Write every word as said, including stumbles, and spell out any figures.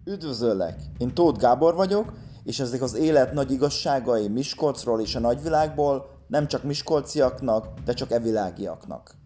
Üdvözöllek! Én Tóth Gábor vagyok, és ezek az élet nagy igazságai Miskolcról és a nagyvilágból nem csak miskolciaknak, de csak evilágiaknak.